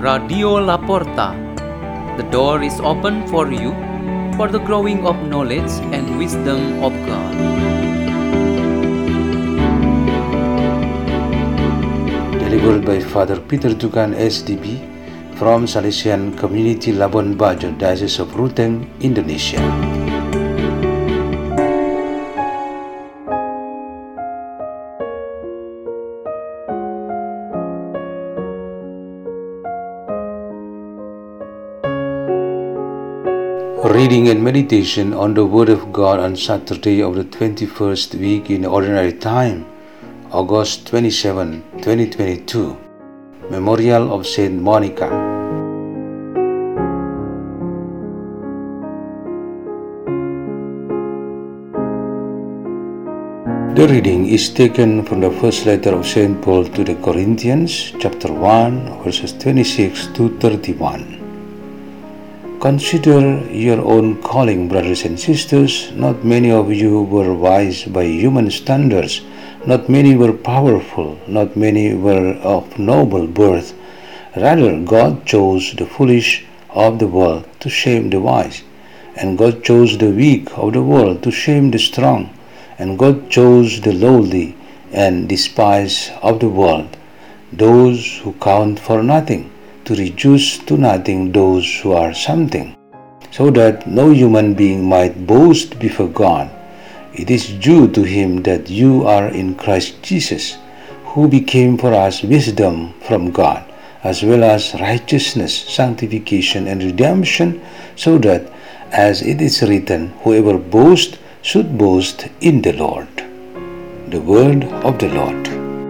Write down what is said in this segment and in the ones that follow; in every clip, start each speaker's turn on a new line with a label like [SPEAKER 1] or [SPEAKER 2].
[SPEAKER 1] Radio La Porta. The door is open for you for the growing of knowledge and wisdom of God.
[SPEAKER 2] Delivered by Father Peter Tukan SDB from Salesian Community Labuan Bajo, Diocese of Ruteng, Indonesia. Reading and meditation on the Word of God on Saturday of the 21st week in Ordinary Time, August 27, 2022. Memorial of Saint Monica. The reading is taken from the first letter of Saint Paul to the Corinthians, chapter 1, verses 26 to 31. Consider your own calling, brothers and sisters. Not many of you were wise by human standards. Not many were powerful. Not many were of noble birth. Rather, God chose the foolish of the world to shame the wise. And God chose the weak of the world to shame the strong. And God chose the lowly and despised of the world, those who count for nothing, to reduce to nothing those who are something, so that no human being might boast before God. It is due to Him that you are in Christ Jesus, who became for us wisdom from God, as well as righteousness, sanctification, and redemption, so that, as it is written, whoever boasts should boast in the Lord. The word of the Lord.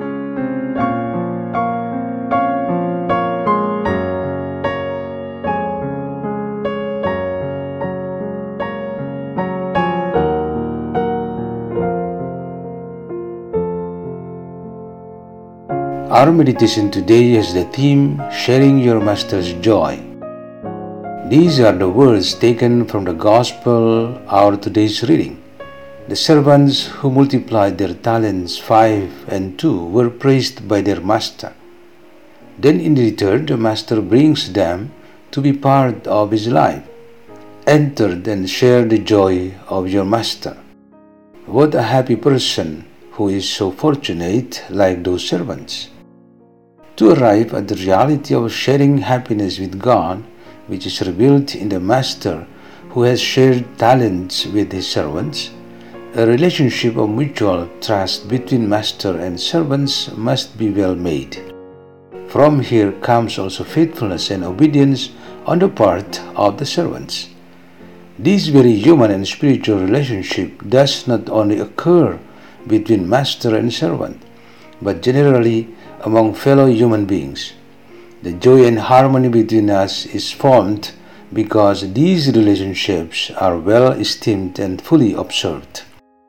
[SPEAKER 2] Our meditation today has the theme, Sharing Your Master's Joy. These are the words taken from the Gospel, our today's reading. The servants who multiplied their talents 5 and 2 were praised by their master. Then in return the master brings them to be part of his life. Enter and share the joy of your master. What a happy person who is so fortunate like those servants. To arrive at the reality of sharing happiness with God, which is revealed in the Master who has shared talents with his servants, a relationship of mutual trust between Master and servants must be well made. From here comes also faithfulness and obedience on the part of the servants. This very human and spiritual relationship does not only occur between Master and servant, but generally among fellow human beings. The joy and harmony between us is formed because these relationships are well esteemed and fully observed.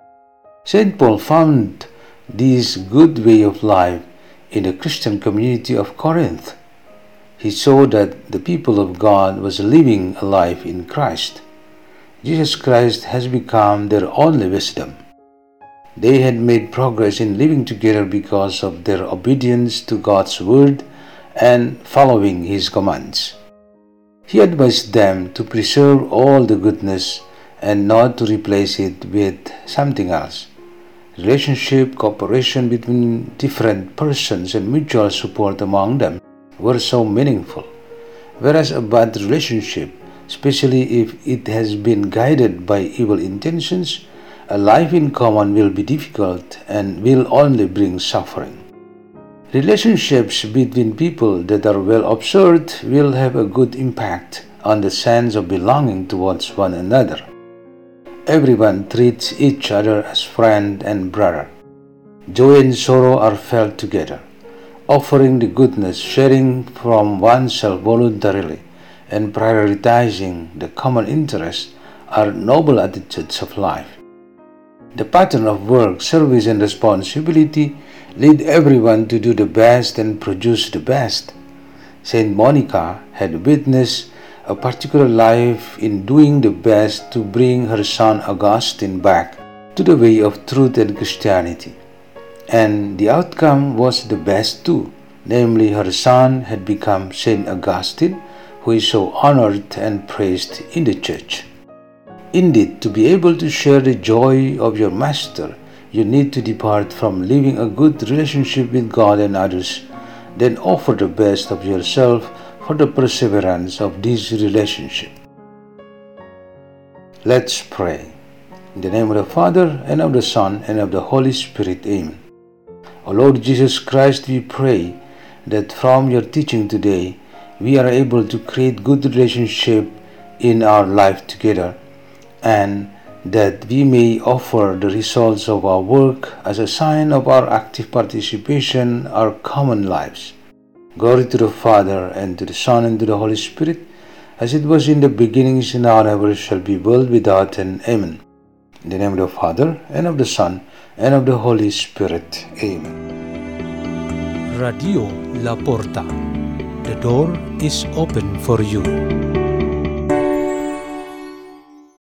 [SPEAKER 2] St. Paul found this good way of life in the Christian community of Corinth. He saw that the people of God was living a life in Christ. Jesus Christ has become their only wisdom. They had made progress in living together because of their obedience to God's word and following His commands. He advised them to preserve all the goodness and not to replace it with something else. Relationship, cooperation between different persons, and mutual support among them were so meaningful. Whereas a bad relationship, especially if it has been guided by evil intentions, a life in common will be difficult and will only bring suffering. Relationships between people that are well observed will have a good impact on the sense of belonging towards one another. Everyone treats each other as friend and brother. Joy and sorrow are felt together. Offering the goodness, sharing from oneself voluntarily, and prioritizing the common interest are noble attitudes of life. The pattern of work, service, and responsibility lead everyone to do the best and produce the best. Saint Monica had witnessed a particular life in doing the best to bring her son Augustine back to the way of truth and Christianity. And the outcome was the best too. namely her son had become Saint Augustine, who is so honored and praised in the church. Indeed, to be able to share the joy of your master, you need to depart from living a good relationship with God and others, then offer the best of yourself for the perseverance of this relationship. Let's pray. In the name of the Father, and of the Son, and of the Holy Spirit. Amen. O Lord Jesus Christ, we pray that from your teaching today, we are able to create good relationship in our life together, and that we may offer the results of our work as a sign of our active participation in our common lives. Glory to the Father, and to the Son, and to the Holy Spirit, as it was in the beginning, is now, and ever shall be, world without end. Amen. In the name of the Father, and of the Son, and of the Holy Spirit. Amen.
[SPEAKER 3] Radio La Porta. The door is open for you.